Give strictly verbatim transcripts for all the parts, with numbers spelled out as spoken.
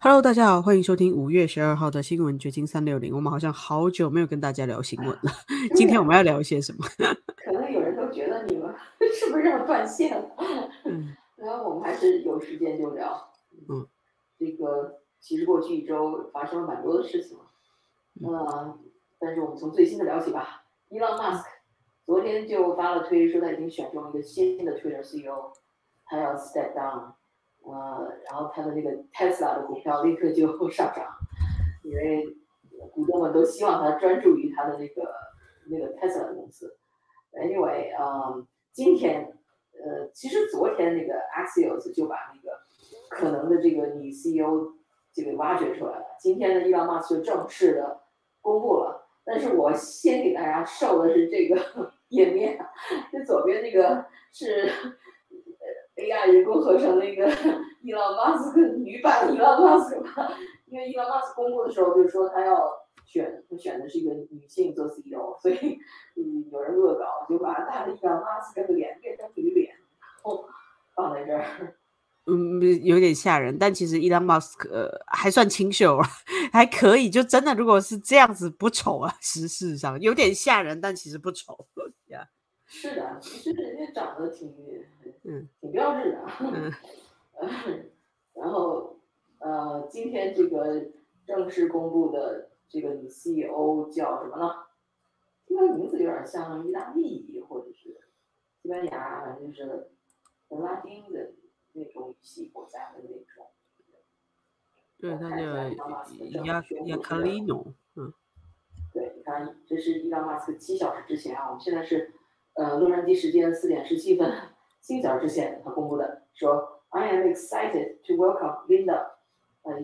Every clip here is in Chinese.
Hello，大家好，欢迎收听五月十二号的新闻掘金三六零。我们好像好久没有跟大家聊新闻了，今天我们要聊一些什么？ 可能有人都觉得你们是不是要断线了？ 嗯然后我们还是有时间就聊。 嗯这个其实过去一周发生了蛮多的事情了， 嗯呃，但是我们从最新的聊起吧。Elon 嗯 Musk 昨天就发了推说他已经选中一个新的 Twitter C E O，他要 step down，呃，然后他的那个 Tesla 的股票立刻就上涨，因为股东们都希望他专注于他的那个那个 Tesla 的公司。Anyway，嗯，今天，呃，其实昨天那个 Axios 就把那个可能的这个女 C E O 这个挖掘出来了。今天呢，Elon Musk 就正式的公布了。但是我先给大家授的是这个页面，这左边那个是呃 A I 人工合成的一个 Elon Musk 女版 Elon Musk 吧，因为 Elon Musk 公布的时候就说他要选，他选的是一个女性做 C E O，所以嗯，有人恶搞就把他的 Elon Musk 的脸变成女脸，然后放在这儿。 嗯，有点吓人，但其实 Elon Musk 呃还算清秀啊，还可以。就真的如果是这样子不丑啊，实事上有点吓人，但其实不丑呀。 是的，其实人家长得挺嗯挺标致的。 嗯然后呃，今天这个正式公布的这个女 C E O 叫什么呢？这个名字有点像意大利或者是西班牙，反正就是拉丁的那种语系国家的那种。 对， 我他叫看一下伊朗马斯克正式亚亚宣布是， 卡利诺。嗯对，你看，这是伊朗马斯克七小时之前啊，我们现在是呃洛杉矶时间四点十七分，七小时之前他公布的，说 I am excited to welcome Linda 呃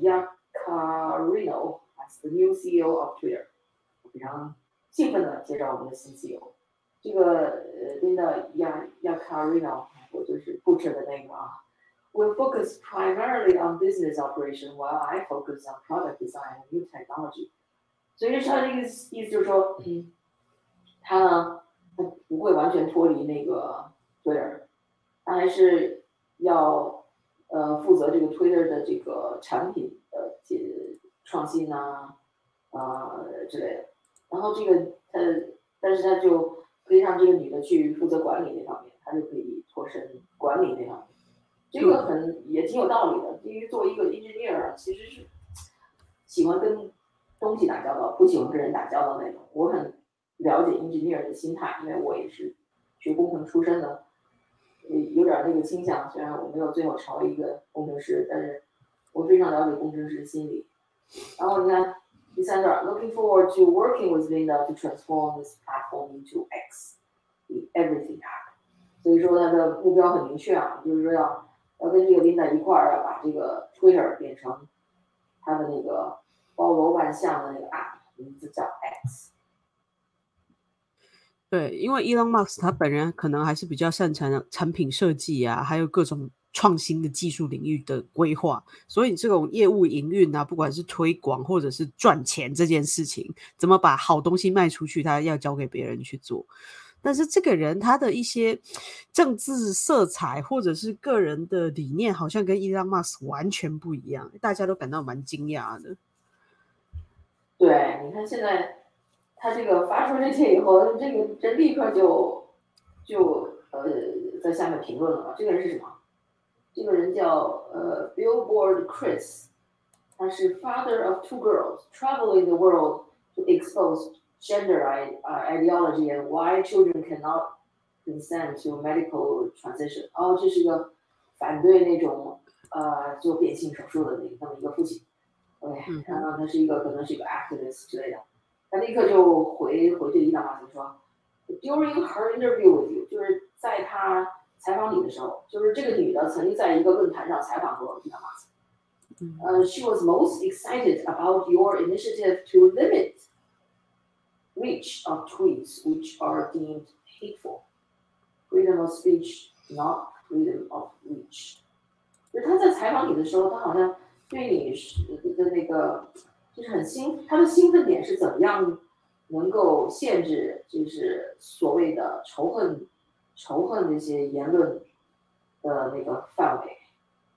Yaccarino as the new C E O of Twitter，非常兴奋的介绍我们的新 C E O。这个呃 Linda Yaccarino，我就是 butcher 的那个啊。Will focus primarily on business operation, while I focus on product design and new technology. 所以他这个意思就是说，嗯，他呢，他不会完全脱离那个 Twitter，他还是要呃负责这个 Twitter 的这个产品的这创新呐、啊，呃之类的。然后这个他，但是他就可以让这个女的去负责管理那方面，他就可以脱身管理那方面。这个对很也挺有道理的，因为作为一个 engineer，其实是喜欢跟东西打交道，不喜欢跟人打交道那种。我很了解 engineer 的心态，因为我也是学工程出身的，有点那个倾向。虽然我没有最后成为一个工程师，但是我非常了解工程师的心理。然后你看第三段 ，Looking forward to working with Linda to transform this platform into X, the everything app。所以说他的目标很明确啊，就是说要要跟这个 Linda 一块儿要把这个 Twitter 变成他的那个包罗万象的那个 app，名字叫 X。 对，因为 Elon Musk 他本人可能还是比较擅长产品设计啊，还有各种创新的技术领域的规划，所以这种业务营运啊，不管是推广或者是赚钱这件事情，怎么把好东西卖出去，他要交给别人去做。但是这个人他的一些政治色彩或者是个人的理念，好像跟 Elon Musk 完全不一样，大家都感到蛮惊讶的。 对，你看现在他这个发出这些以后，这个人立刻就就呃在下面评论了。这个人是什么？这个人叫呃 Billboard Chris，他是 father of two girls, traveling the world to expose gender ideology and why children cannot consent to medical transition。哦，这是一个反对那种呃做变性手术的那那么一个父亲。OK， 嗯哼， 然后他是一个可能是一个 activist 之类的，他立刻就回回这伊朗马斯说，During her interview with you，就是在他采访你的时候，就是这个女的曾经在一个论坛上采访过伊朗马斯。Uh, she was most excited about your initiative to limit reach of tweets which are deemed hateful. Freedom of speech, not freedom of reach。就是他在采访你的时候，他好像对你的那个就是很兴，他的兴奋点是怎么样能够限制，就是所谓的仇恨、仇恨那些言论的那个范围。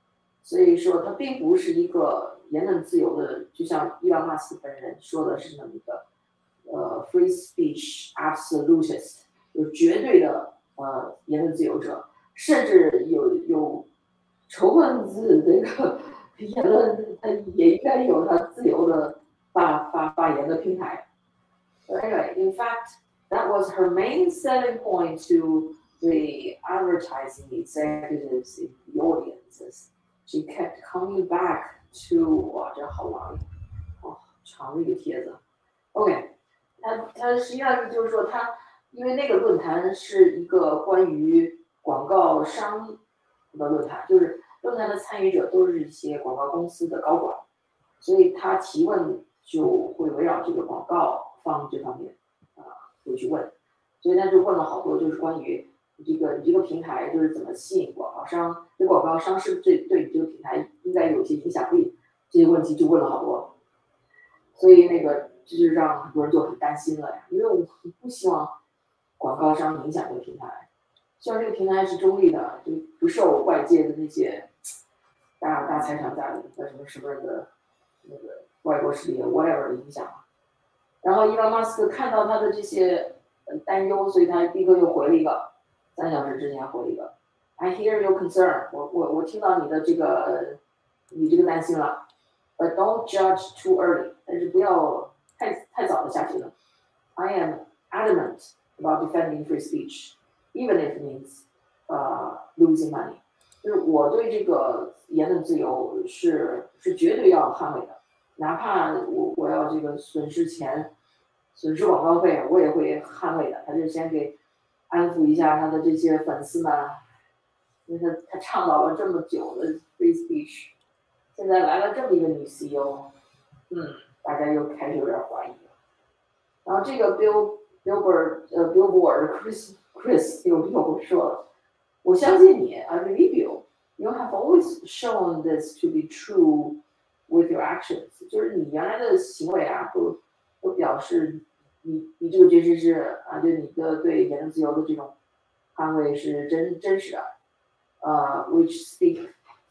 所以说他并不是一个言论自由的，就像伊朗马斯克本人说的是那么一个呃 free speech absolutist， 有绝对的呃言论自由者，甚至有有仇恨自这个言论，他也应该有他自由的发发发言的平台。Anyway, in fact, that was her main selling point to the advertising executives in the audiences. She kept coming back to 哇，这好长，哦，长的一个帖子。OK， 它它实际上就是说它，因为那个论坛是一个关于广告商的论坛，就是论坛的参与者都是一些广告公司的高管，所以他提问就会围绕这个广告方这方面啊、呃、会去问，所以他就问了好多，就是关于这个你这个平台就是怎么吸引广告商，这广告商是不是对对你这个平台应该有一些影响力，这些问题就问了好多，所以那个这就让很多人就很担心了呀，因为我们不希望广告商影响这个平台，希望这个平台是中立的，就不受外界的那些大大财团家的什么什么的那个外国势力 whatever 的影响。然后伊隆马斯克看到他的这些担忧，所以他立刻又回了一个，三小时之前回了一个 I hear your concern， 我我我听到你的这个你这个担心了 ，but don't judge too early， 但是不要太太早的下结论。I am adamant about defending free speech, even if it means uh, losing money。就是我对这个言论自由是是绝对要捍卫的，哪怕我我要这个损失钱、损失广告费，我也会捍卫的。他就先给安抚一下他的这些粉丝们，因为他他倡导了这么久的 free speech， 现在来了这么一个女 C E O， 嗯，大家又开始有点怀疑了。然后这个 Bill Billboard 呃 Billboard Chris Chris 又又说了，我相信你 I believe you you have always shown this to be true with your actions， 就是你原来的行为啊都都表示你你这个确实是啊，就你的对言论自由的这种捍卫是真真实的，呃 which speak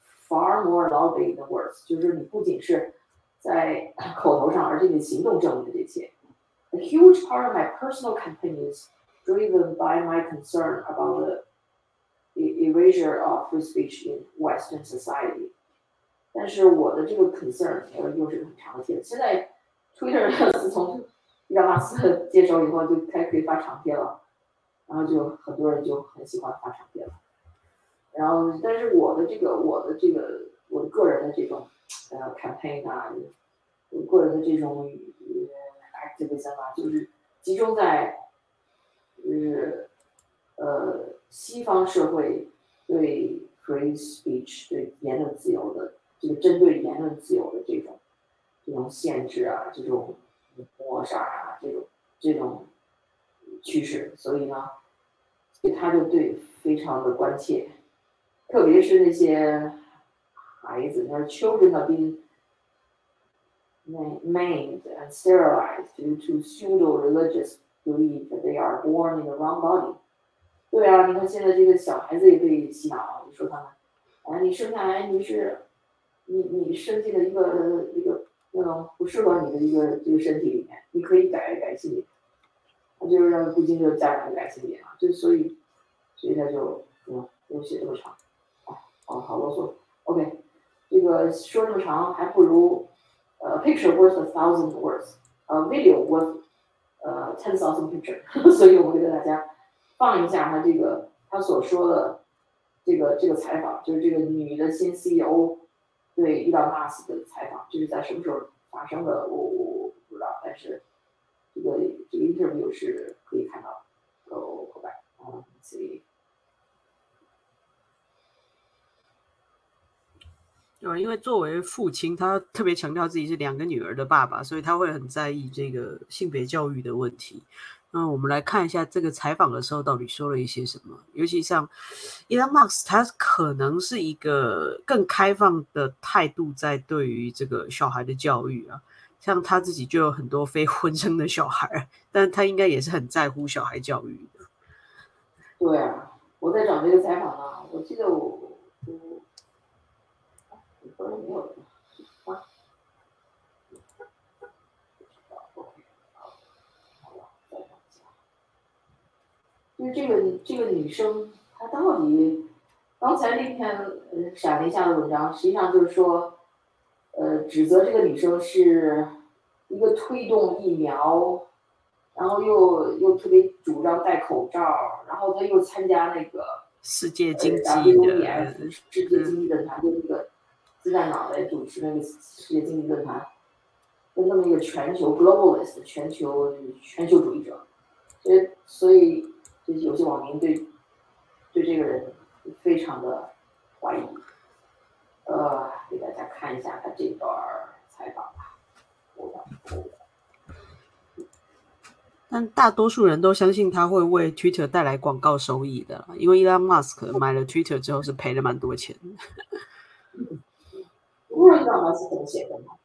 far more loudly than words， 就是你不仅是在口头上，而且你的行动证明了这些。A huge part of my personal campaign is driven by my concern about the erasure of free speech in Western society。但是我的这个 concern 又是很长的帖子。现在 Twitter 自从伊隆马斯克接手以后，就开可以发长篇了，然后就很多人就很喜欢发长篇了。然后，但是我的这个我的这个我的个人的这种呃 campaign 啊，我个人的这种 activism 啊，就是集中在就是呃西方社会对 free speech 对言论自由的这个针对言论自由的这种这种限制啊，这种抹杀啊，这种这种趋势，所以呢，所以他就对非常的关切，特别是那些孩子，那 children are being maimed and sterilized due to pseudo-religious belief that they are born in the wrong body。对啊，你看现在这个小孩子也被洗脑，你说他们，哎，你生下来你是，你你生进了一个一个那种不适合你的一个这个身体里面，你可以改改性别，他就是让不经就家长改性别啊，就所以，所以他就嗯，又写这么长，哎，好好啰嗦。OK， 这个说这么长，还不如。Uh, picture worth a thousand words, a video worth uh, ten thousand picture 所以我们给大家放一下他这个他所说的这个这个采访，就是这个女的新 C E O 对伊隆马斯克的采访，这是在什么时候发生的？我我不知道，但是这个这个 interview 是可以看到。Go go back, um, see。 对，因为作为父亲，他特别强调自己是两个女儿的爸爸，所以他会很在意这个性别教育的问题。那我们来看一下这个采访的时候到底说了一些什么。尤其像 Elon Musk， 他可能是一个更开放的态度在对于这个小孩的教育啊，像他自己就有很多非婚生的小孩，但他应该也是很在乎小孩教育的。 对啊，我在找这个采访呢，我记得我我不是没有人啊。就是这个这个女生，她到底刚才那篇呃闪了一下的文章，实际上就是说，呃，指责这个女生是一个推动疫苗，然后又又特别主张戴口罩，然后她又参加那个世界呃经济 W E 的， F 世界经济论坛，就那个自带脑袋主持那个世界经济论坛，跟那么一个全球 globalist 全球全球主义者，所以所以就是有些网民对对这个人非常的怀疑。呃，给大家看一下他这段采访吧。 但大多数人都相信他会为 Twitter 带来广告收益的，因为 Elon Musk 买了 Twitter 之后是赔了蛮多钱。 不知道 Elon Musk 怎么写的吗？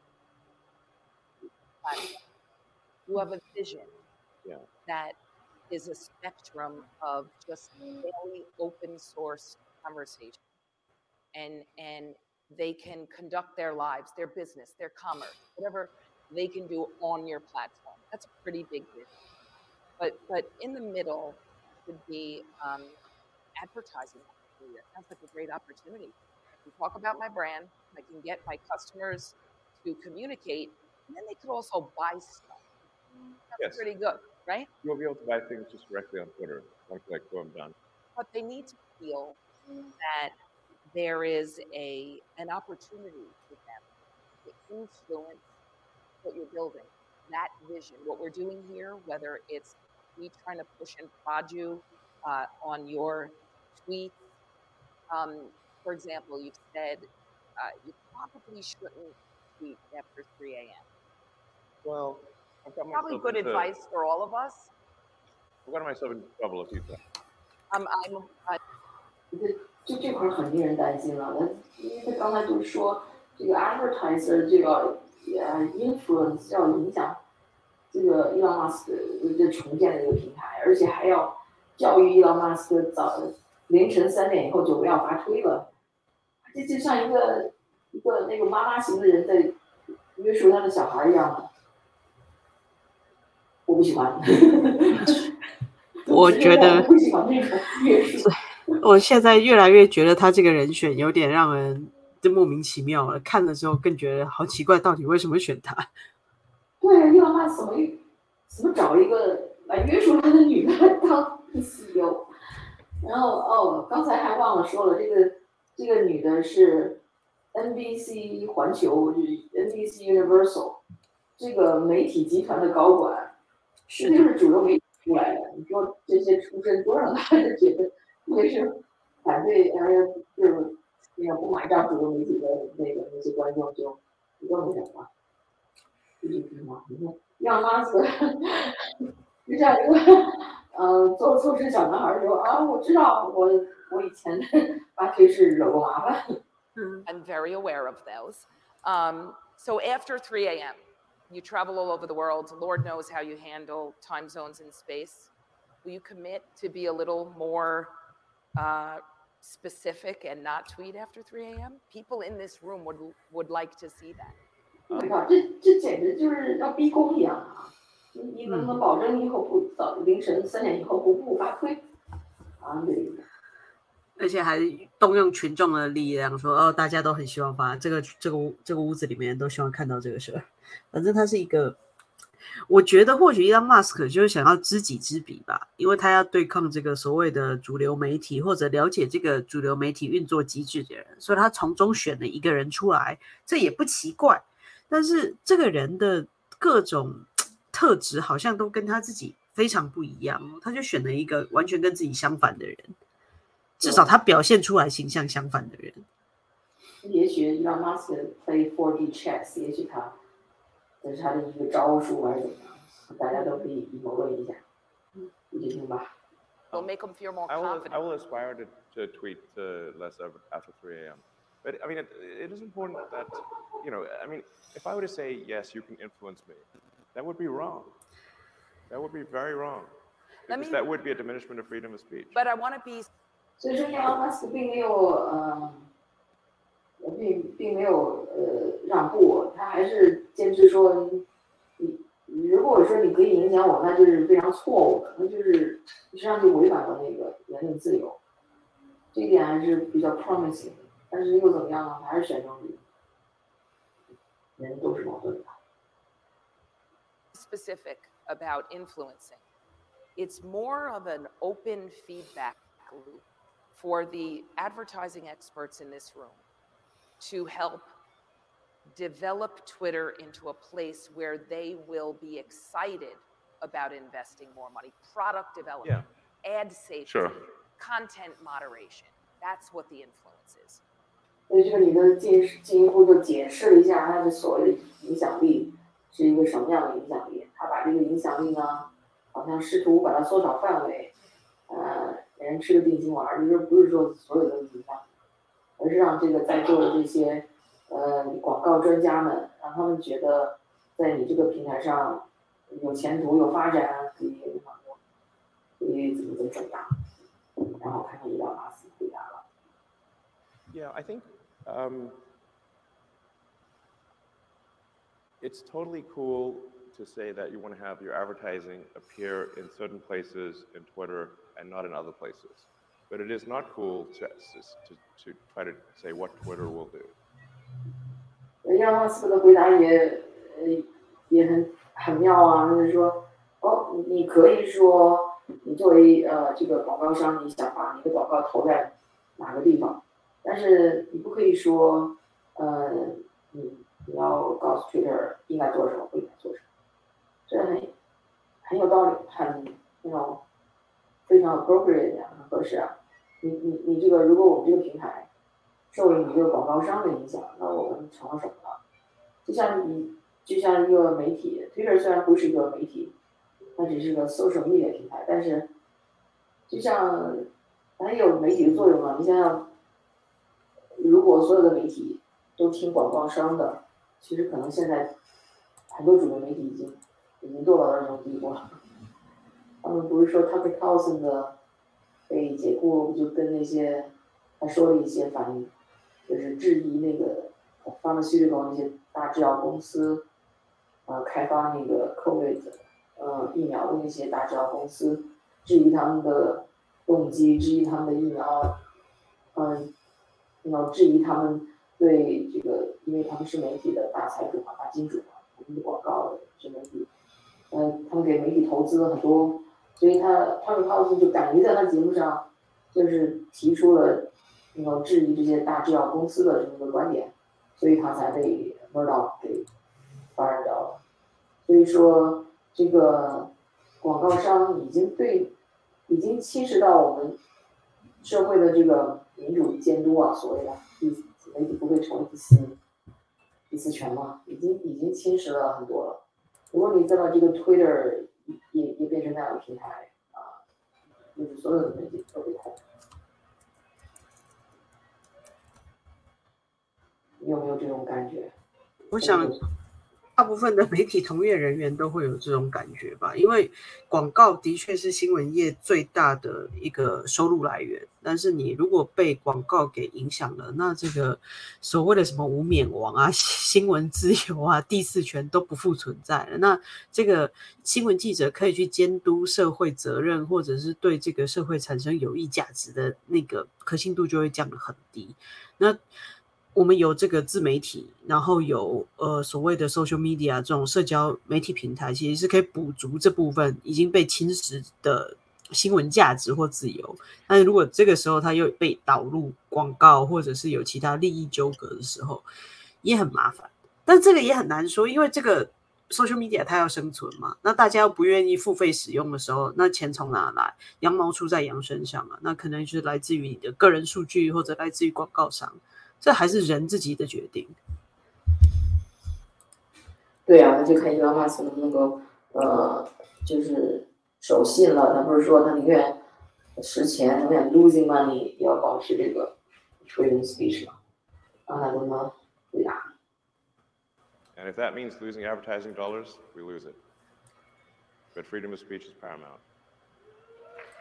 You have a vision yeah. that is a spectrum of just daily open source conversation, and and they can conduct their lives, their business, their commerce, whatever they can do on your platform. That's a pretty big vision. But but in the middle would be um, advertising. That sounds like a great opportunity. I can talk about my brand. I can get my customers to communicate, and then they could also buy stuff. That's yes. pretty good, right? You'll be able to buy things just directly on Twitter. One click, boom, done. But they need to feel that there is a an opportunity for them to influence what you're building, that vision, what we're doing here, whether it's me trying to push and prod you uh, on your tweet. Um, for example, you've said uh, you probably shouldn't tweet after three a.m. Well, I've got probably myself good into, advice for all of us. I've got myself into trouble a few times. Um, I'm. Uh, 就这块很令人担心了，因为他刚才就是说这个 advertiser 这个呃 influence 要影响这个 Elon Musk 的重建的一个平台，而且还要教育 Elon Musk 早凌晨三点以后就不要发推了，这就像一个一个那个妈妈型的人在约束他的小孩一样的，我不喜欢。 我觉得不喜欢那种约束。 我现在越来越觉得他这个人选有点让人就莫名其妙了，看了之后更觉得好奇怪，到底为什么选他？ 对啊，伊朗马怎么怎么找一个来约束他的女的来当 C E O？ 然后哦，刚才还忘了说了，这个这个女的是 N B C 环球，就是 N B C Universal 这个媒体集团的高管，这就是主流媒体出来的。你说这些出身多让大家觉得特别是反对，哎呀，就是那个不买账主流媒体的那个那些观众就更那什么。就是什么？你看，让妈子就像一个呃做错事小男孩说啊，我知道，我我以前发推是惹过麻烦。 I'm very aware of those. Um, so after three a.m., you travel all over the world. Lord knows how you handle time zones in space. Will you commit to be a little more uh, specific and not tweet after three a.m.? People in this room would would like to see that. 我靠，这这简直就是要逼宫一样啊！你你能不能保证以后不早凌晨三点以后不不发推？啊，对。 而且还动用群众的力量说，哦，大家都很希望发这个这个这个屋子里面都希望看到这个事儿。反正他是一个，我觉得或许 Elon Musk 就是想要知己知彼吧，因为他要对抗这个所谓的主流媒体或者了解这个主流媒体运作机制的人，所以他从中选了一个人出来，这也不奇怪。但是这个人的各种特质好像都跟他自己非常不一样，他就选了一个完全跟自己相反的人，至少他表现出来形象相反的人。 也许让 Musk play four D chess， 也许他这是他的一个招数还是怎么样，大家都可以谋论一下，你就听吧。 It'll make them feel more I will, confident. I will aspire to, to tweet uh, less after three a.m. But I mean, it, it is important that, you know, I mean, if I were to say, yes, you can influence me, that would be wrong. That would be very wrong. Because me, that would be a diminishment of freedom of speech. But I want to be... 所以说，Elon Musk 并没有呃， 并并没有呃让步，他还是坚持说你如果说你可以影响我，那就是非常错误的，那就是实际上就违反了那个言论自由，这一点还是比较 promising 的。但是又怎么样呢？还是选择你，人都是矛盾的。 Specific about influencing. It's more of an open feedback loop for the advertising experts in this room to help develop Twitter into a place where they will be excited about investing more money, product development, yeah. ad safety, sure. content moderation. That's what the influence is. 所以这个你的进进一步就解释了一下它的所谓的影响力是一个什么样的影响力。他把这个影响力呢，好像试图把它缩小范围，呃，人吃个定心丸，就是不是说所有的影响，而是让这个在座的这些呃广告专家们，让他们觉得在你这个平台上有前途、有发展，可以可以怎么怎么怎么样。然后看看伊隆马斯回答了。 Yeah, I think um, it's totally cool to say that you want to have your advertising appear in certain places in Twitter and not in other places. But it is not cool to, to, to try to say what Twitter will do. 伊隆马斯克的回答也呃也很很妙啊，就是说，哦，你可以说你作为呃这个广告商，你想把你的广告投在哪个地方，但是你不可以说，呃，你你要告诉 Twitter 应该做什么，不应该做什么，这很很有道理，很那种非常 appropriate 啊，很合适啊。你你你这个，如果我们这个平台受了你这个广告商的影响，那我们成了什么呢？就像你就像一个媒体 ，Twitter 虽然不是一个媒体，它只是个 social media 平台，但是就像它也有媒体的作用啊。你想想，如果所有的媒体都听广告商的，其实可能现在很多主流媒体已经已经做到那种地步了。他们不是说 Tucker Carlson 的被解雇，就跟那些他说了一些反应，就是质疑那个 pharmaceutical 那些大制药公司，呃，开发那个 COVID 呃疫苗的那些大制药公司，质疑他们的动机，质疑他们的疫苗，嗯，然后质疑他们对这个，因为他们是媒体的大财主嘛，大金主嘛，他们的广告是媒体，呃，他们给媒体投资了很多，所以他他们高兴就敢于在他节目上，就是提出了，那种质疑这些大制药公司的这么个观点，所以他才被 Murdoch 给 fire 掉了。所以说，这个广告商已经对，已经侵蚀到我们社会的这个民主监督啊，所谓的第媒体不会成为第四第四权嘛，已经已经侵蚀了很多了。如果你再把这个 Twitter 也也变成那样的平台啊，就是所有的媒体都被控。你有没有这种感觉？ 我想大部分的媒体从业人员都会有这种感觉吧，因为广告的确是新闻业最大的一个收入来源，但是你如果被广告给影响了，那这个所谓的什么无冕王啊、新闻自由啊、第四权都不复存在了。那这个新闻记者可以去监督社会责任，或者是对这个社会产生有益价值的那个可信度就会降得很低。那我们有这个自媒体，然后有呃所谓的 social media 这种社交媒体平台，其实是可以补足这部分已经被侵蚀的新闻价值或自由。但是如果这个时候它又被导入广告，或者是有其他利益纠葛的时候，也很麻烦。但这个也很难说，因为这个 social media 它要生存嘛，那大家又不愿意付费使用的时候，那钱从哪来？羊毛出在羊身上啊，那可能就是来自于你的个人数据，或者来自于广告商。这还是人自己的决定。 对啊，那就看伊隆马斯克能不能够呃，就是守信了。他不是说他宁愿实钱，宁愿 losing money， 也要保持这个 freedom speech 嘛？让他能不能回答 And if that means losing advertising dollars, we lose it. But freedom of speech is paramount.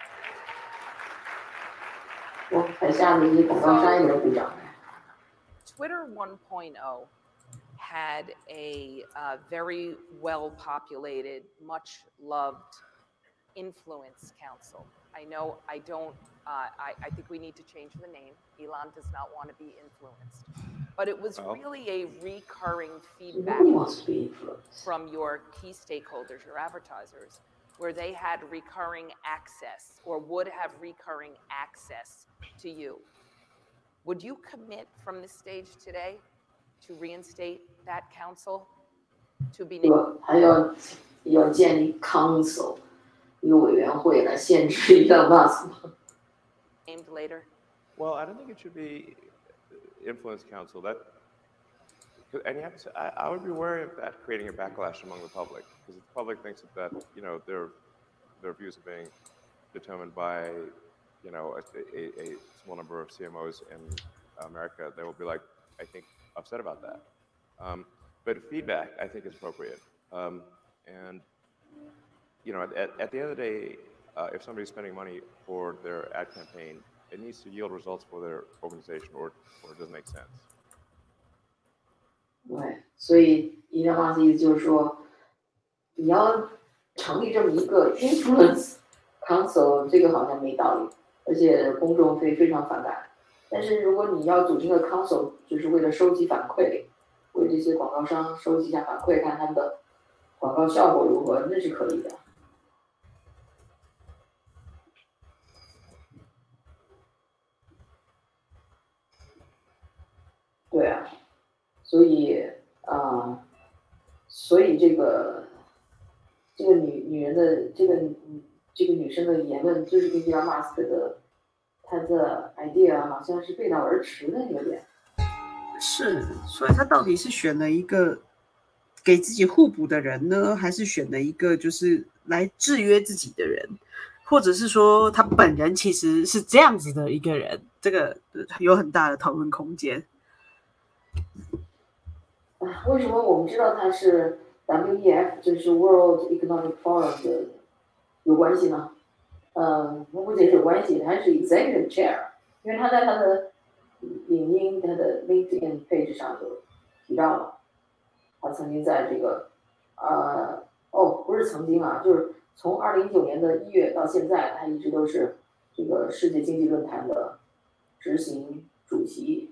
我台下的一些广告商也在鼓掌。 Twitter one point oh had a uh, very well populated, much loved influence council. I know I don't, uh, I, I think we need to change the name. Elon does not want to be influenced. But it was Well. really a recurring feedback Nobody wants to be influenced. from your key stakeholders, your advertisers, where they had recurring access or would have recurring access to you. Would you commit from this stage today to reinstate that council to be 对吧？还要要建立 council 一个委员会来限制Elon Musk 吗？ named later? Well, I don't think it should be influence council. That and you have to say, I, I would be wary of that creating a backlash among the public, because if the public thinks that, that you know their their views are being determined by you know a, a, a small number of C M Os in America, they will be like, I think, upset about that. Um, but feedback, I think, is appropriate. Um, and you know, at, at the end of the day, uh, if somebody's spending money for their ad campaign, it needs to yield results for their organization, or or it doesn't make sense. 对，所以 Elon Musk 意思就是说，你要成立这么一个 influence council， 这个好像没道理，而且公众会非常反感。但是如果你要组织个 council， 就是为了收集反馈，为这些广告商收集一下反馈，看他们的广告效果如何，那是可以的。对啊，所以啊、呃，所以这个这个女女人的这个这个女生的言论，就是跟 Elon Musk 的他的 idea 好像是背道而驰的，有点。 是，所以他到底是选了一个给自己互补的人呢，还是选了一个就是来制约自己的人，或者是说他本人其实是这样子的一个人？这个有很大的讨论空间。 啊，为什么我们知道他是 W E F， 就是 World Economic Forum 的有关系呢？嗯，不仅是有关系，他是 Executive Chair， 因为他在他的领英、他的 LinkedIn page 上就提到了，他曾经在这个呃哦，不是曾经啊，就是从二零一九年的一月到现在，他一直都是这个世界经济论坛的执行主席。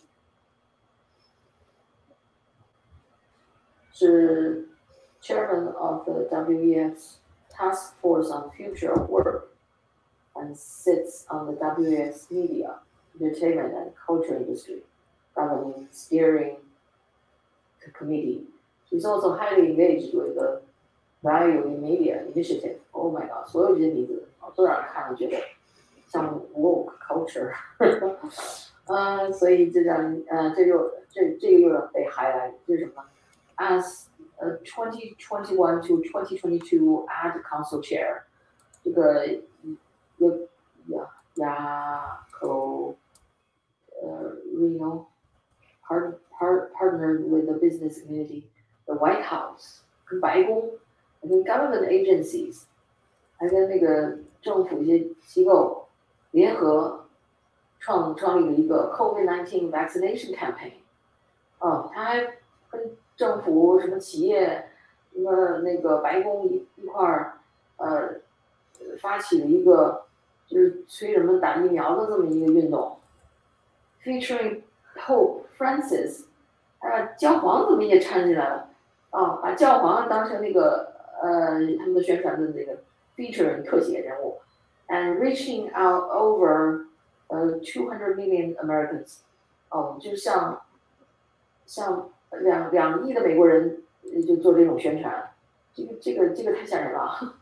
是 Chairman of the W E F's Task Force on Future of Work and sits on the W E F's media, entertainment and culture industry governing steering committee. He's also highly engaged with the Value in Media Initiative. Oh my god, 所有这些名字都让人看了觉得像 woke culture 呃，所以这让呃这又这这个又让被 highlight 这是什么呢？ As a twenty twenty-one to twenty twenty-two Ad Council Chair， 这个雅雅口呃 Reno part, part, partnered with the business community, the White House， 跟白宫，还跟 government agencies， 还跟那个政府一些机构联合创创立了一个 COVID nineteen vaccination campaign。哦，他还跟政府、什么企业、什么那个白宫一一块儿，呃，发起了一个就是催人们打疫苗的这么一个运动 ，featuring Pope Francis， 啊，教皇怎么也掺进来了？啊，把教皇当成那个呃他们的宣传的那个 feature 特写人物 ，and reaching out over 呃 two hundred million Americans， 哦，就像像。两两亿的美国人就做这种宣传，这个这个这个太吓人了。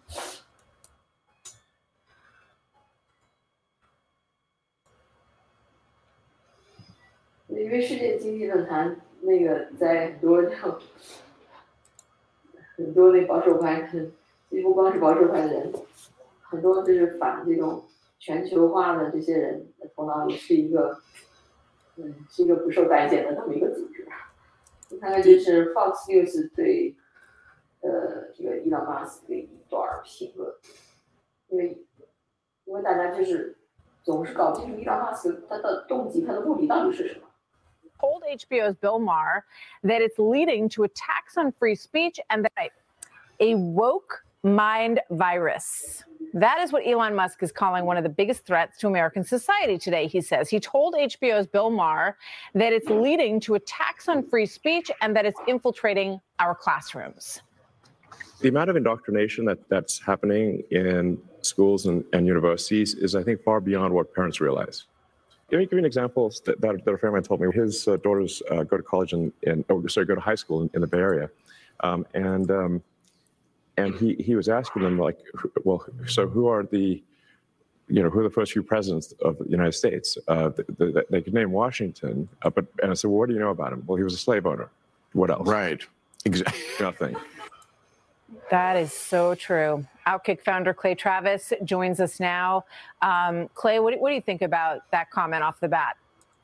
因为世界经济论坛那个在很多很多那保守派，其实不光是保守派的人，很多就是反这种全球化的这些人的头脑里是一个，嗯，是一个不受待见的这么一个组织。大概就是 Fox News 对呃这个伊朗马斯的一段评论，因为因为大家就是总是搞不清楚伊朗马斯他的动机、他的目的到底是什么。 told H B O's Bill Maher that it's leading to attacks on free speech and that a woke mind virus. That is what Elon Musk is calling one of the biggest threats to American society today, he says. He told H B O's Bill Maher that it's leading to attacks on free speech and that it's infiltrating our classrooms. The amount of indoctrination that, that's happening in schools and, and universities is, I think, far beyond what parents realize. Let me give you an example that, that, that a friend of mine told me. His uh, daughters uh, go to college in, in oh, sorry, go to high school in, in the Bay Area. Um, and um, and he, he was asking them, like, well, so who are the, you know, who are the first few presidents of the United States? Uh, the, the, they could name Washington, uh, but and I said, well, what do you know about him? Well, he was a slave owner. What else? Right. Exactly. Nothing. That is so true. Outkick founder Clay Travis joins us now. Um, Clay, what, what do you think about that comment off the bat?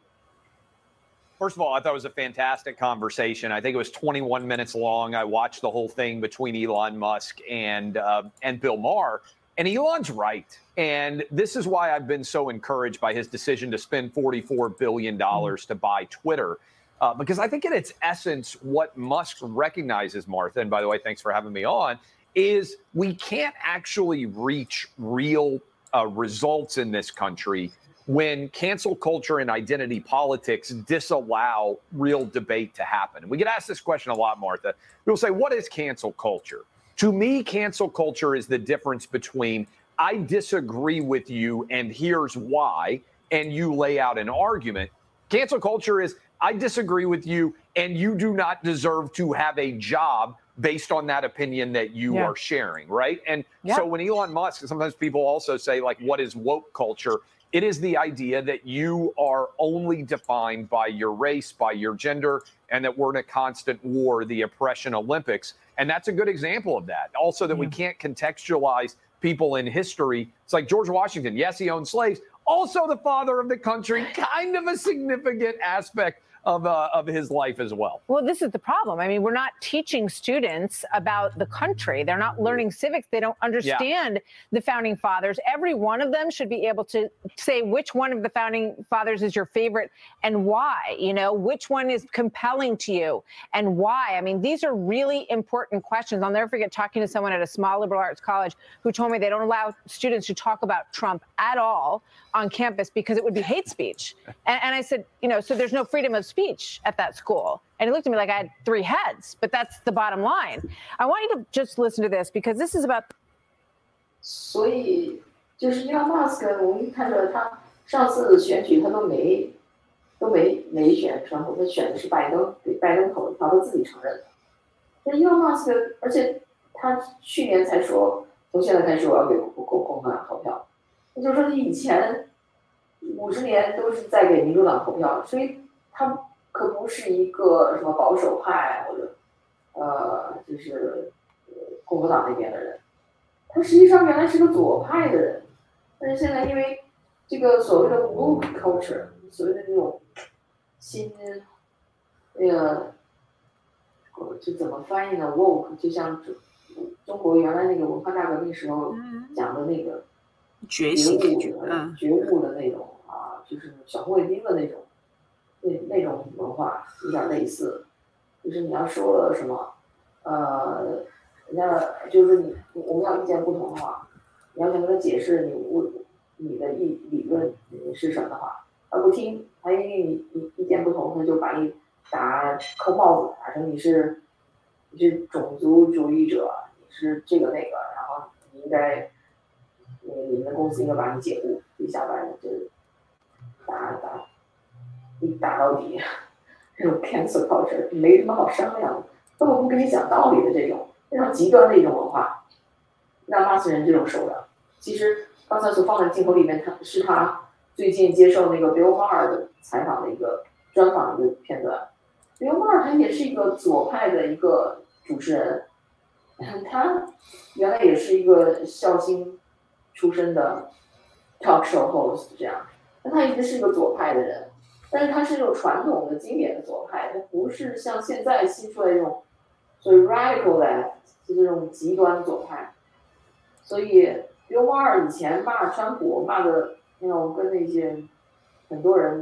First of all, I thought it was a fantastic conversation. I think it was twenty-one minutes long. I watched the whole thing between Elon Musk and uh, and Bill Maher. And Elon's right. And this is why I've been so encouraged by his decision to spend forty-four billion dollars to buy Twitter. Uh, because I think in its essence, what Musk recognizes, Martha, and by the way, thanks for having me on, is we can't actually reach real uh, results in this country when cancel culture and identity politics disallow real debate to happen. And we get asked this question a lot, Martha. People say, what is cancel culture? To me, cancel culture is the difference between I disagree with you and here's why, and you lay out an argument. Cancel culture is I disagree with you and you do not deserve to have a job based on that opinion that you yeah. are sharing, right? And yeah. so when Elon Musk, sometimes people also say, like, what is woke culture? It is the idea that you are only defined by your race, by your gender, and that we're in a constant war, the oppression Olympics. And that's a good example of that. Also, that yeah. we can't contextualize people in history. It's like George Washington. Yes, he owned slaves. Also the father of the country, kind of a significant aspect of uh, of his life as well. Well, this is the problem. I mean, we're not teaching students about the country. They're not learning civics. They don't understand yeah. the founding fathers. Every one of them should be able to say which one of the founding fathers is your favorite and why, you know, which one is compelling to you and why. I mean, these are really important questions. I'll never forget talking to someone at a small liberal arts college who told me they don't allow students to talk about Trump at all on campus because it would be hate speech. And, and I said, you know, so there's no freedom of speech at that school. And he looked at me like I had three heads, but that's the bottom line. I want you to just listen to this because this is about. 所以就是伊朗马斯克，我们看着他上次选举他都没都没没选川普，他选的是拜登，给拜登投票，他自己承认的。那伊朗马斯克，而且他去年才说，从现在开始我要给共共和党投票，那就是说他以前五十年都是在给民主党投票，所以他可不是一个什么保守派或者呃就是共和党那边的人，他实际上原来是个左派的人，但是现在因为这个所谓的 woke culture， 所谓的那种新那个就怎么翻译呢 ？woke 就像中中国原来那个文化大革命时候讲的那个觉醒、 觉觉悟的那种啊，就是小红卫兵的那种。那那种文化有点类似，就是你要说了什么，呃，人家就是你我们要意见不同的话，你要想跟他解释你我你的意理论是什么的话，他不听，他因为你你意见不同，他就把你打扣帽子，打成你是你是种族主义者，你是这个那个，然后你应该你你们的公司应该把你解雇，一下班就打打。一打到底，这种 cancel culture 没什么好商量的，根本不跟你讲道理的这种非常极端的一种文化，让纳粹人这种手段。其实刚才所放在镜头里面，他是他最近接受那个 Bill Maher 的采访的一个专访的一个片段。Bill Maher 他也是一个左派的一个主持人，他原来也是一个孝心出身的 talk show host 这样，但他一直是一个左派的人。但是他是这种传统的经典的左派，他不是像现在新出来这种所谓 radical left， 就这种极端左派。所以 Bill Maher 以前骂川普骂的，那种跟那些很多人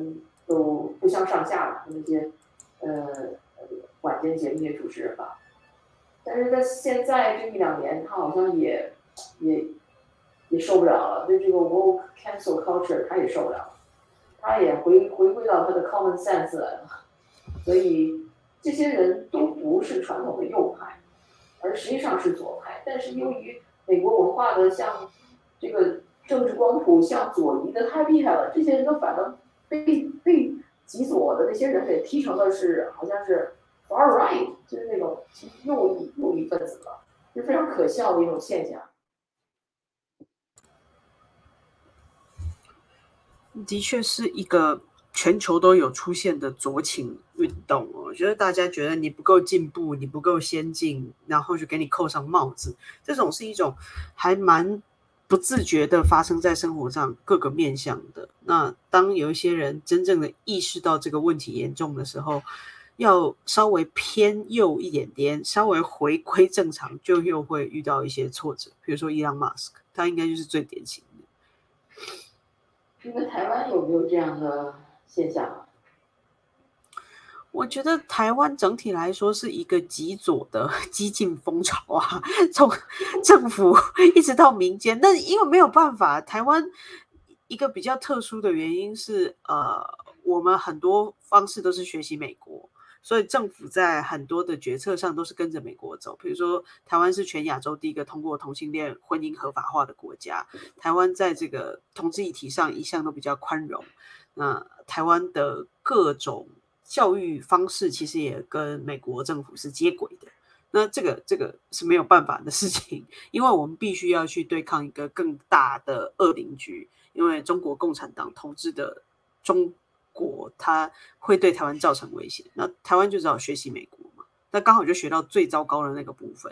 都不相上下了，那些呃晚间节目那些主持人吧。但是在现在这一两年，他好像也也也受不了了，对这个 woke cancel culture 他也受不了了，他也回回归到他的 common sense 来了。所以这些人都不是传统的右派，而实际上是左派。但是由于美国文化的像这个政治光谱向左移的太厉害了，这些人都反而被被极左的那些人给踢成了是好像是 far right， 就是那种右翼右翼分子了，是非常可笑的一种现象。 的确是一个全球都有出现的左倾运动哦。我觉得大家觉得你不够进步，你不够先进，然后就给你扣上帽子，这种是一种还蛮不自觉的发生在生活上各个面向的。那当有一些人真正的意识到这个问题严重的时候，要稍微偏右一点点，稍微回归正常，就又会遇到一些挫折。比如说伊朗马斯克，他应该就是最典型的。 你们台湾有没有这样的现象啊？ 我觉得台湾整体来说是一个极左的激进风潮啊，从政府一直到民间。但因为没有办法，台湾一个比较特殊的原因是，呃，我们很多方式都是学习美国，所以政府在很多的决策上都是跟着美国走。比如说，台湾是全亚洲第一个通过同性恋婚姻合法化的国家，台湾在这个同志议题上一向都比较宽容。那台湾的各种教育方式其实也跟美国政府是接轨的。那这个这个是没有办法的事情，因为我们必须要去对抗一个更大的恶邻居，因为中国共产党统治的中国，它会对台湾造成威胁。那台湾就只好学习美国嘛，那刚好就学到最糟糕的那个部分。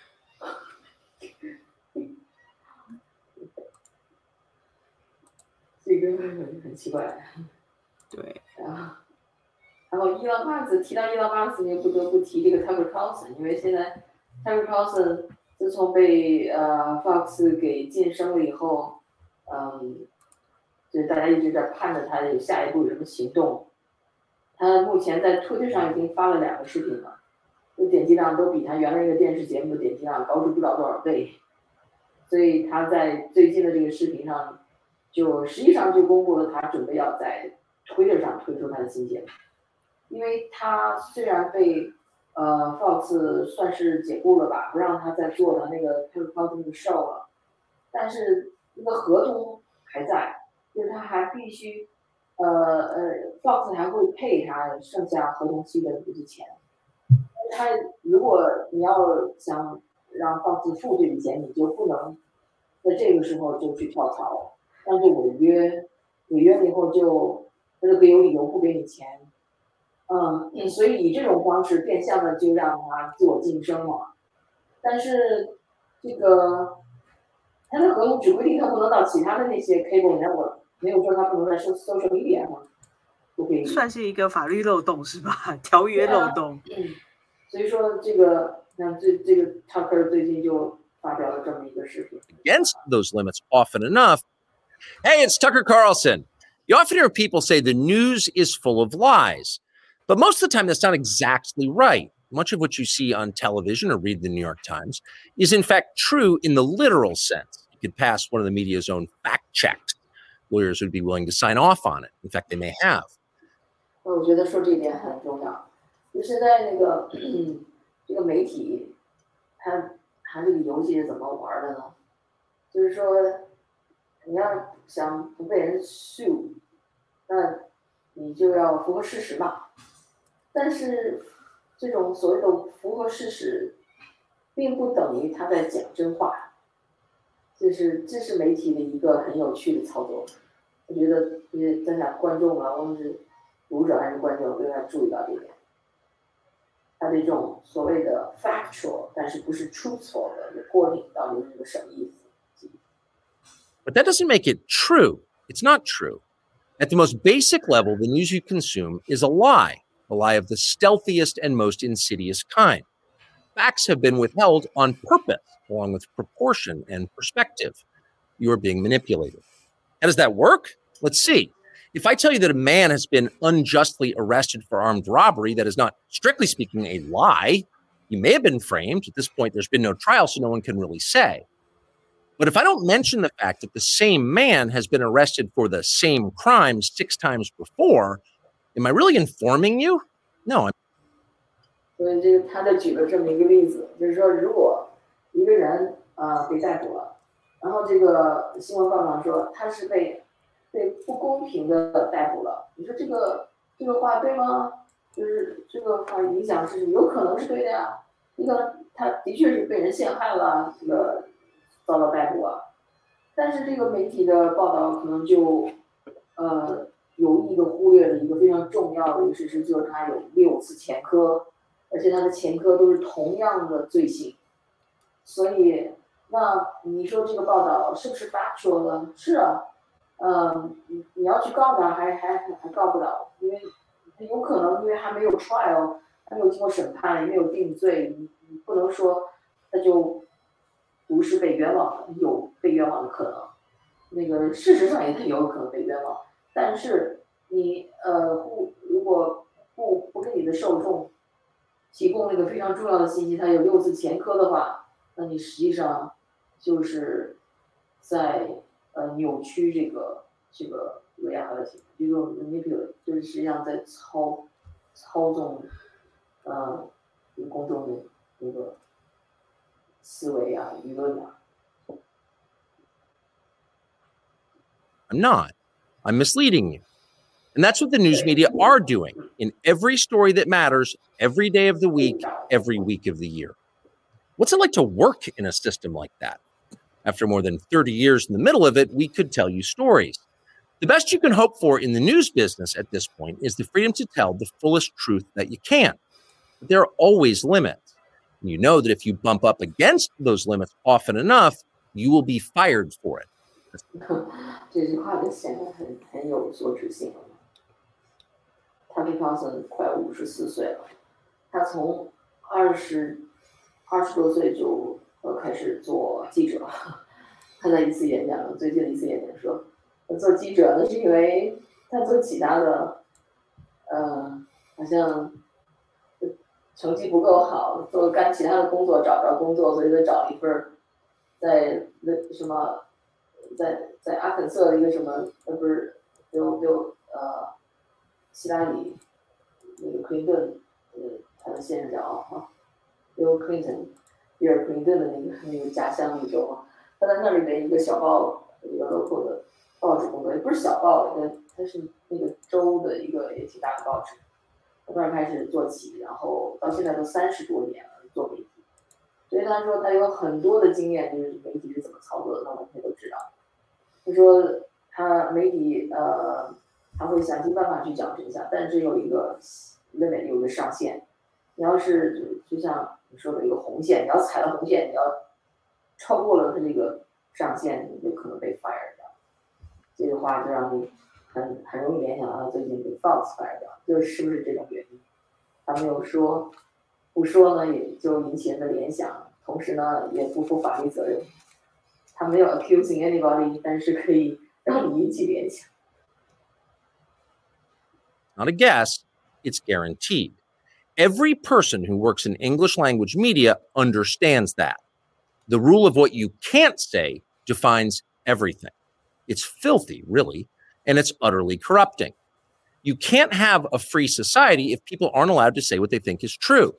这个很很奇怪。 对啊。然后伊朗马斯提到伊朗马斯，你不得不提这个 Tucker Carlson， 因为现在 Tucker Carlson 自从被呃 Fox 给晋升了以后，嗯，就是大家一直在盼着他有下一步有什么行动。他目前在推特上已经发了两个视频了，就点击量都比他原来一个电视节目的点击量高出不知道多少倍。所以他在最近的这个视频上，就实际上就公布了他准备要在推特上推出他的新节目。因为他虽然被呃 Fox 算是解雇了吧，不让他再做的那个 Tucker Carlson 的 show 了，但是那个合同还在，就是他还必须呃呃 Fox 还会配他剩下合同期的这些钱。他如果你要想让 Fox 付这笔钱，你就不能在这个时候就去跳槽，但是违约，违约了以后就他就可以有理由不给你钱。嗯，所以以这种方式变相的就让他自我晋升了。但是这个他的合同只规定他不能到其他的那些 cable network， 没有说他不能在 social media 上不可以。 算是一个法律漏洞是吧？条约漏洞。 啊、嗯，所以说这个那这这个 Tucker 最近就发表了这么一个视频。 Against those limits often enough. Hey, it's Tucker Carlson. You often hear people say the news is full of lies. But most of the time, that's not exactly right. Much of what you see on television or read the New York Times is, in fact, true in the literal sense. You could pass one of the media's own fact checks. Lawyers would be willing to sign off on it. In fact, they may have. 我觉得说这一点很重要。就现在那个这个媒体，它它这个游戏是怎么玩的呢？就是说，你要想不被人 sue， 那你就要符合事实嘛。但是这种所谓的符合事实，并不等于他在讲真话，就是这是媒体的一个很有趣的操作。我觉得就是咱俩观众啊，无论是读者还是观众，都要注意到这点。他的这种所谓的 factual， 但是不是 truthful 的 reporting， 到底是个什么意思 ？But that doesn't make it true. It's not true. At the most basic level, the news you consume is a lie. A lie of the stealthiest and most insidious kind. Facts have been withheld on purpose, along with proportion and perspective. You are being manipulated. How does that work? Let's see. If I tell you that a man has been unjustly arrested for armed robbery, that is not, strictly speaking, a lie. You may have been framed. At this point, there's been no trial, so no one can really say. But if I don't mention the fact that the same man has been arrested for the same crime six times before, am I really informing you? No. I'm 所以这个他就举了这么一个例子，就是说，如果一个人啊、呃、被逮捕了，然后这个新闻报道说他是被被不公平的逮捕了，你说这个这个话对吗？就是这个话影响是有可能是对的呀。一个他的确是被人陷害了，这个遭到逮捕啊，但是这个媒体的报道可能就呃有意的忽略了一个非常重要的一个事实，就是他有六次前科，而且他的前科都是同样的罪行，所以那你说这个报道是不是 factual 呢？是啊。嗯，你你要去告他，还还还告不了，因为有可能因为还没有 trial， 还没有经过审判，也没有定罪，你你不能说他就不是被冤枉的，有被冤枉的可能。那个事实上也他有可能被冤枉，但是你呃不如果不不给你的受众提供那个非常重要的信息，他有六次前科的话，那你实际上就是在。呃，扭曲这个这个 reality， 这种 manipulate 就是实际上在操操纵呃公众的那个思维啊、舆论啊。 I'm not. I'm misleading you. And that's what the news media are doing in every story that matters, every day of the week, every week of the year. What's it like to work in a system like that? After more than thirty years in the middle of it, we could tell you stories. The best you can hope for in the news business at this point is the freedom to tell the fullest truth that you can. But there are always limits. And you know that if you bump up against those limits often enough, you will be fired for it. 这句话就显得很很有所指性了。Tucker Carlson 快五十四岁了，他从二十二十多岁就。呃，开始做记者。他在一次演讲，最近的一次演讲说，做记者呢是因为他做其他的，呃，好像成绩不够好，做干其他的工作找不着工作，所以他找了一份在那什么，在在阿肯色的一个什么，呃，不是，有有呃，希拉里那个克林顿，呃，他的现任叫啊 ，Bill Clinton。比尔·克林顿的那个那个家乡那州啊，他在那里的一个小报，一个 local 的报纸工作，也不是小报，它它是那个州的一个也挺大的报纸。他突然开始做起，然后到现在都三十多年了做媒体，所以他说他有很多的经验，就是媒体是怎么操作的，他完全都知道。他说他媒体呃，他会想尽办法去讲真相，但是有一个 limit， 有一个上限。你要是就就像你说的一个红线，你要踩了红线，你要超过了它这个上限，你就可能被 fire 掉。这句话就让你很很容易联想到他最近被 Fox fire 掉，就是不是这种原因？他没有说，不说呢，也就引起人的联想，同时呢也不负法律责任。他没有 accusing anybody， 但是可以让你引起联想。 Not a guess, it's guaranteed. Every person who works in English language media understands that. The rule of what you can't say defines everything. It's filthy, really, and it's utterly corrupting. You can't have a free society if people aren't allowed to say what they think is true.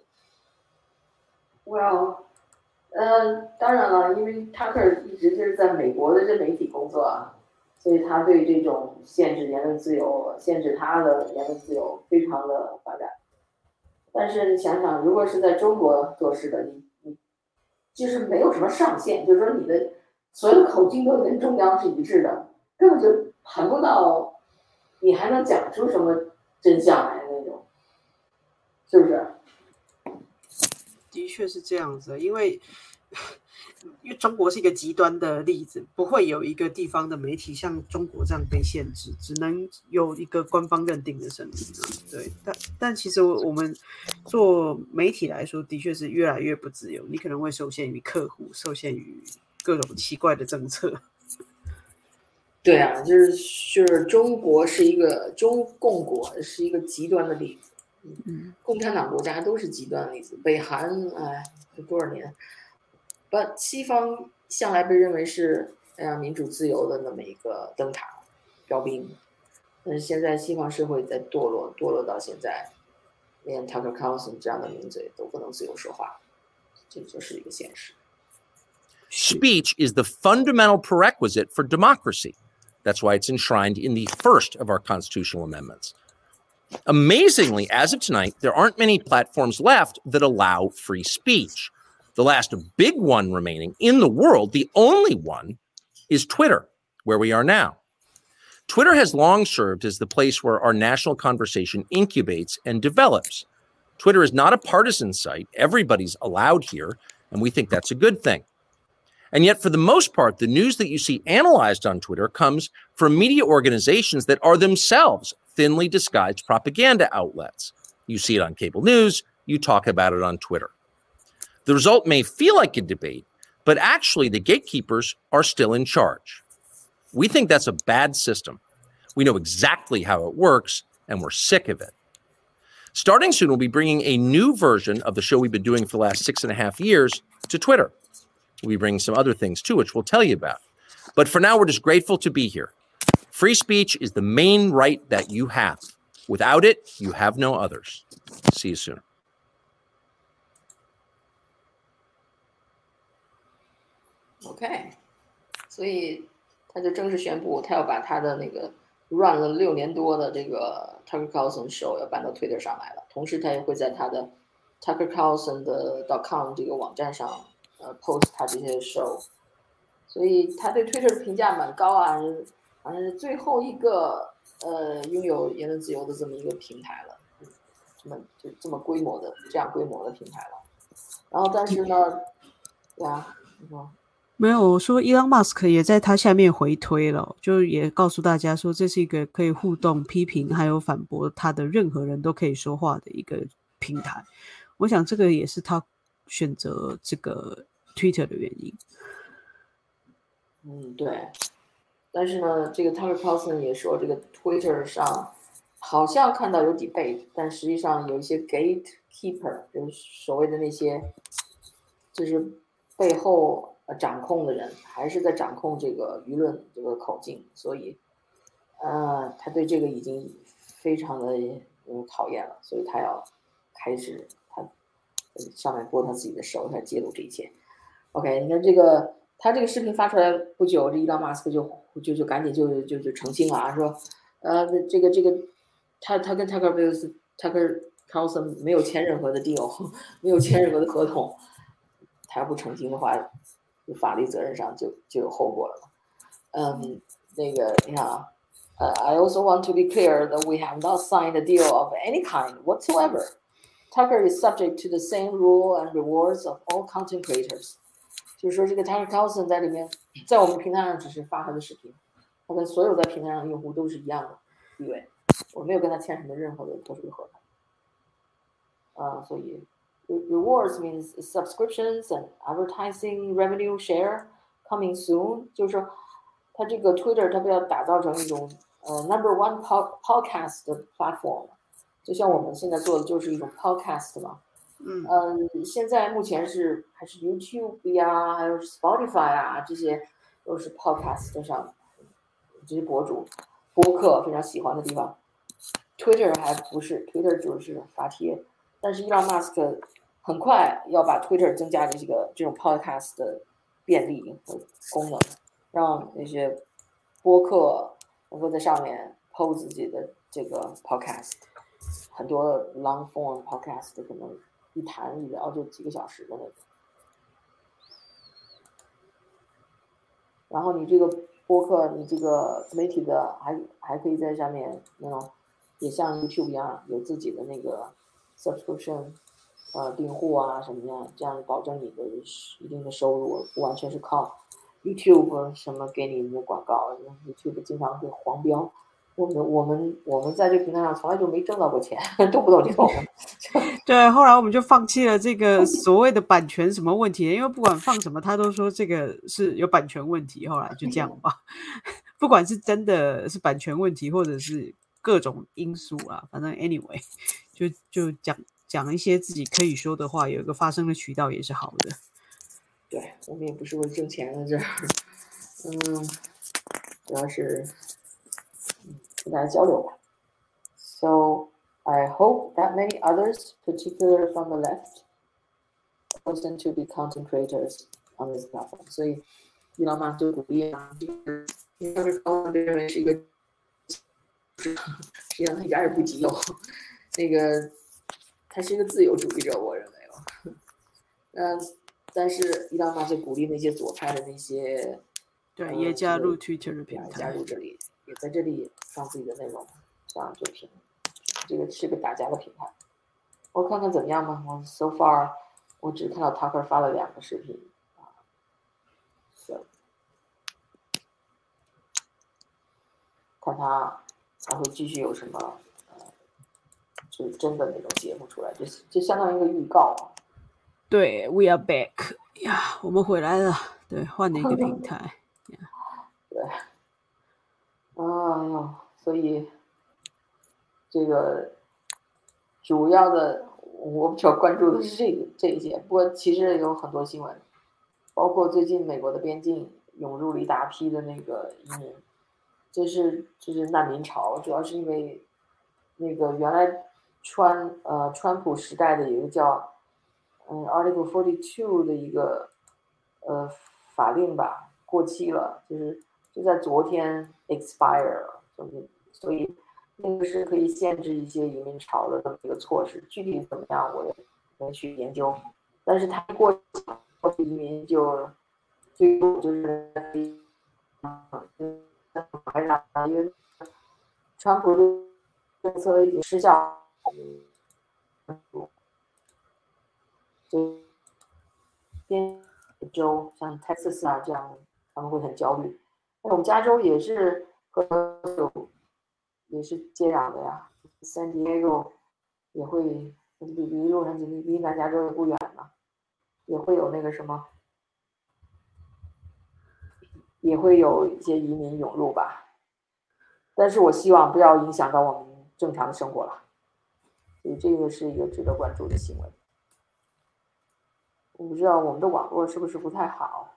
Well, 呃，当然了，因为塔克尔一直就是在美国的这媒体工作啊，所以他对这种限制言论自由、限制他的言论自由非常的反感。但是你想想，如果是在中国做事的，你你就是没有什么上限，就是说你的所有的口径都跟中央是一致的，根本就谈不到你还能讲出什么真相来那种，是不是？ 的确是这样子，因为因为中国是一个极端的例子，不会有一个地方的媒体像中国这样被限制，只能有一个官方认定的声音。对，但但其实我们做媒体来说，的确是越来越不自由。你可能会受限于客户，受限于各种奇怪的政策。 对啊，就是就是中国是一个中共国是一个极端的例子，嗯，共产党国家都是极端的例子，北韩哎，这多少年，但西方向来被认为是哎呀民主自由的那么一个灯塔标兵，但是现在西方社会在堕落，堕落到现在，连 Tucker Carlson 这样的名嘴都不能自由说话，这就是一个现实。 Speech is the fundamental prerequisite for democracy. That's why it's enshrined in the first of our constitutional amendments. Amazingly, as of tonight, there aren't many platforms left that allow free speech. The last big one remaining in the world, the only one, is Twitter, where we are now. Twitter has long served as the place where our national conversation incubates and develops. Twitter is not a partisan site. Everybody's allowed here, and we think that's a good thing. And yet, for the most part, the news that you see analyzed on Twitter comes from media organizations that are themselves thinly disguised propaganda outlets. You see it on cable news, you talk about it on Twitter. The result may feel like a debate, but actually the gatekeepers are still in charge. We think that's a bad system. We know exactly how it works, and we're sick of it. Starting soon, we'll be bringing a new version of the show we've been doing for the last six and a half years to Twitter. We'll be bringing some other things too, which we'll tell you about. But for now, we're just grateful to be here. Free speech is the main right that you have. Without it, you have no others. See you soon. OK， 所以他就正式宣布，他要把他的那个 run 了六年多的这个 Tucker Carlson show 要搬到 Twitter 上来了。同时，他也会在他的 Tucker Carlson 的 .com 这个网站上呃 post 他这些 show。所以他对 Twitter 的评价蛮高啊，好像是最后一个呃拥有言论自由的这么一个平台了，这么就这么规模的这样规模的平台了。然后但是呢，对啊，你说。 没有，我说伊朗马斯克也在他下面回推了，就也告诉大家说，这是一个可以互动、批评还有反驳他的任何人都可以说话的一个平台。我想这个也是他选择这个 Twitter 的原因。 嗯，对。但是呢，这个 Tucker Carlson 也说，这个 Twitter 上好像看到有 debate， 但实际上有一些 gatekeeper， 就是所谓的那些，就是背后掌控的人还是在掌控这个舆论这个口径，所以，呃，他对这个已经非常的嗯讨厌了，所以他要开始他上面播他自己的手，他揭露这一切。OK， 你看这个他这个视频发出来不久，这伊朗马斯克就就就赶紧就就就澄清了啊，说，呃，这个这个他他跟 Tucker Tucker Carlson 没有签任何的 deal， 没有签任何的合同，他要不澄清的话。法律责任上就就有后果了嘛。嗯，那个你看啊，呃、uh, ，I also want to be clear that we have not signed a deal of any kind whatsoever. Tucker is subject to the same rule and rewards of all content creators. 就是说，这个 Tucker Carlson 在里面，在我们平台上只是发他的视频，他跟所有在平台上的用户都是一样的地位。我没有跟他签什么任何的特殊的合同。啊、uh, ，所以。Rewards means subscriptions and advertising revenue share coming soon. 就是说，它这个 Twitter 它不要打造成一种呃 number one podcast 的 platform， 就像我们现在做的就是一种 podcast 嘛。嗯。呃，现在目前是还是 YouTube 呀，还有 Spotify 啊，这些都是 podcast 上这些博主播客非常喜欢的地方。Twitter 还不是 ，Twitter 就是发帖，但是伊朗马斯克。很快要把 Twitter 增加这个这种 podcast 的便利和功能，让那些播客能够在上面 post 自己的这个 podcast， 很多 long form podcast 可能一谈一聊就几个小时的那种。然后你这个播客，你这个媒体的还还可以在下面那种，也像 YouTube 一样有自己的那个 subscription。呃，订户啊什么的，这样保证你的一定的收入，不完全是靠 YouTube 什么给你的广告 ，YouTube 经常会黄标。我们我们我们在这个平台上从来就没挣到过钱，动不动就动。 对，后来我们就放弃了这个所谓的版权什么问题，因为不管放什么，他都说这个是有版权问题，后来就这样吧。 不管是真的是版权问题，或者是各种因素啊，反正 anyway， 就就讲讲一些自己可以说的话，有一个发声的渠道也是好的。 对，我们也不是为挣钱的这儿，嗯，主要是嗯跟大家交流吧。So I hope that many others, particularly from the left, listen to be content creators on this platform. 所以伊朗马就鼓励啊，因为高能认为是一个，实际上他一点也不极右，那个他是一个自由主义者，我认为哦。嗯，但是伊朗马就鼓励那些左派的那些， 对， 呃、 也加入这个 Twitter 的平台， 加入这里，也在这里放自己的内容，这样就平，这个是个打架的平台。我看看怎么样吧。我 so far 我只看到 Tucker 发了两个视频啊，是，看他还会继续有什么呃，就是真的那种节目出来，就就相当于一个预告啊。 对 ，We are back 呀，我们回来了。对，换了一个平台。 对，哎呦，所以这个主要的我比较关注的是这个这一些，不过其实有很多新闻，包括最近美国的边境涌入了一大批的那个移民，这是这是难民潮，主要是因为那个原来川呃川普时代的有一个叫嗯 Article forty-two 的一个呃法令吧，过期了，就是就在昨天 expire 了，就是所以那个是可以限制一些移民潮的这么一个措施，具体怎么样我也没去研究，但是它过移民就就就是因为川普的政策已经失效。就边州像 Texas 啊这样，他们会很焦虑。那我们加州也是和也是接壤的呀 ，San Diego 也会离离洛杉矶离离南加州也不远嘛，也会有那个什么，也会有一些移民涌入吧。但是我希望不要影响到我们正常的生活了，所以这个是一个值得关注的新闻。我不知道我们的网络是不是不太好。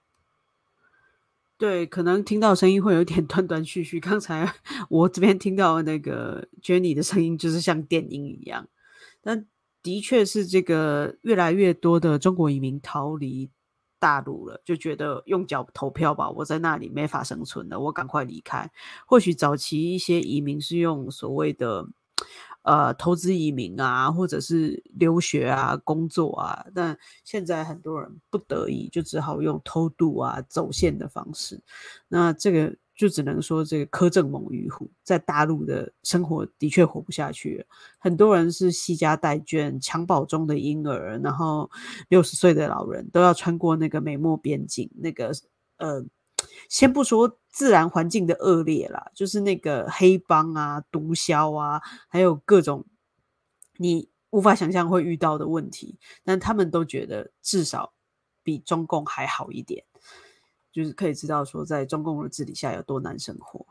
对，可能听到声音会有点断断续续。刚才我这边听到那个 Jenny 的声音，就是像电音一样。但的确是这个越来越多的中国移民逃离大陆了，就觉得用脚投票吧，我在那里没法生存了，我赶快离开。或许早期一些移民是用所谓的呃投资移民啊，或者是留学啊、工作啊，但现在很多人不得已就只好用偷渡啊、走线的方式。那这个就只能说这个苛政猛于虎，在大陆的生活的确活不下去了。很多人是惜家带眷、襁褓中的婴儿，然后六十岁的老人都要穿过那个美墨边境，那个呃。先不说自然环境的恶劣啦，就是那个黑帮啊、毒枭啊，还有各种你无法想象会遇到的问题，但他们都觉得至少比中共还好一点，就是可以知道说在中共的治理下有多难生活。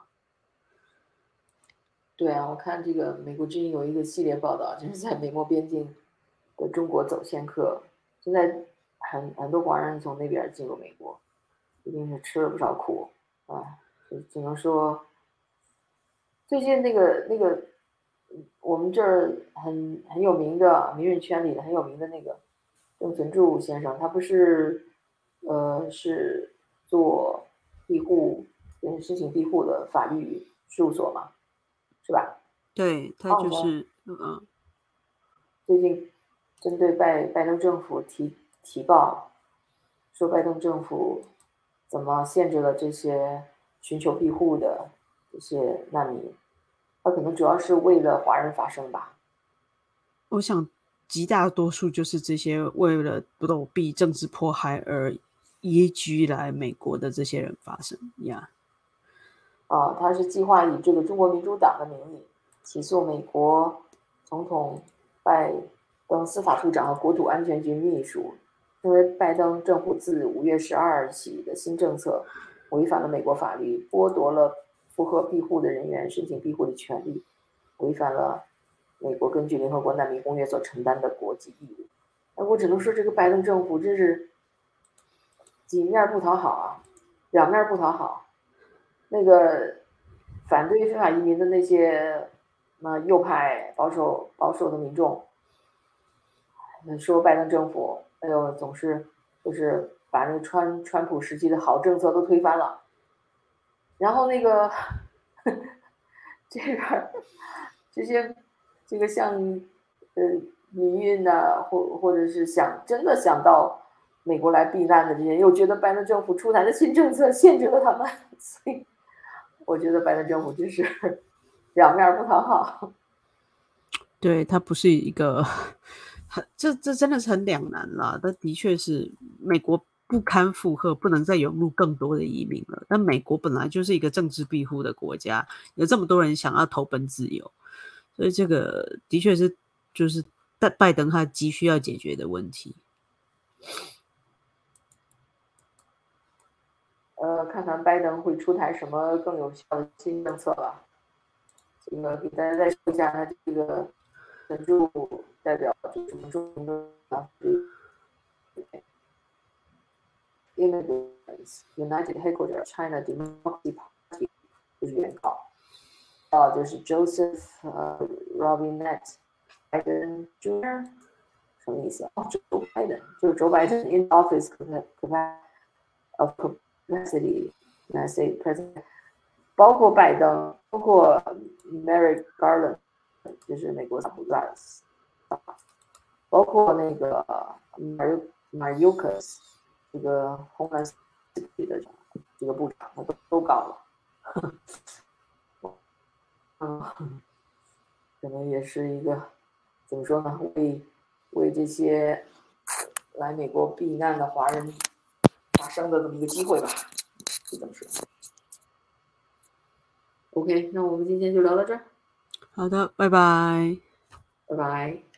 对啊，我看这个美国之音有一个系列报道，就是在美墨边境的中国走线客，现在很很多华人从那边进入美国。一定是吃了不少苦啊！只能说，最近那个那个，我们这儿很很有名的名人圈里的很有名的那个郑存柱先生，他不是呃是做庇护，嗯，申请庇护的法律事务所嘛，是吧？ 对，他就是嗯、哦， 最近针对拜拜登政府提提报，说拜登政府怎么限制了这些寻求庇护的这些难民？他可能主要是为了华人发声吧。 我想极大多数就是这些为了躲避政治迫害而移居来美国的这些人发声呀。 啊，他是计划以这个中国民主党的名义起诉美国总统拜登司法部长和国土安全局秘书。因为拜登政府自五月十二日起的新政策， 违反了美国法律，剥夺了符合庇护的人员申请庇护的权利，违反了美国根据联合国难民公约所承担的国际义务。哎，我只能说这个拜登政府真是几面不讨好啊，两面不讨好。那个反对非法移民的那些那右派保守保守的民众，说拜登政府哎呦总是就是把那个川川普时期的好政策都推翻了，然后那个这边这些这个像呃民运呐，或或者是想真的想到美国来避难的这些，又觉得拜登政府出台的新政策限制了他们，所以我觉得拜登政府真是两面不讨好。 对，他不是一个很这这真的是很两难啦。但的确是美国不堪负荷，不能再涌入更多的移民了。但美国本来就是一个政治庇护的国家，有这么多人想要投奔自由，所以这个的确是就是拜登他急需要解决的问题。 呃，看看拜登会出台什么更有效的新政策吧。这个给大家再说一下，他这个援助代表就是什么中文的啊 ？Immigrants United Headquarters China Democracy Party 就是原告，啊，就是 Joseph 呃 Robinette Biden Junior 什么意思？哦，Joe Biden 就是 Joe Biden in office of capacity United States President， 包括拜登，包括 Merrick Garland， 就是美国总统，包括那个 Mayorkas 这个 Homeland Security 的这个部长，他都都告了。嗯，可能也是一个怎么说呢？为为这些来美国避难的华人发声的这么一个机会吧，就这么说。OK， 那我们今天就聊到这儿。 好的，拜拜。 拜拜。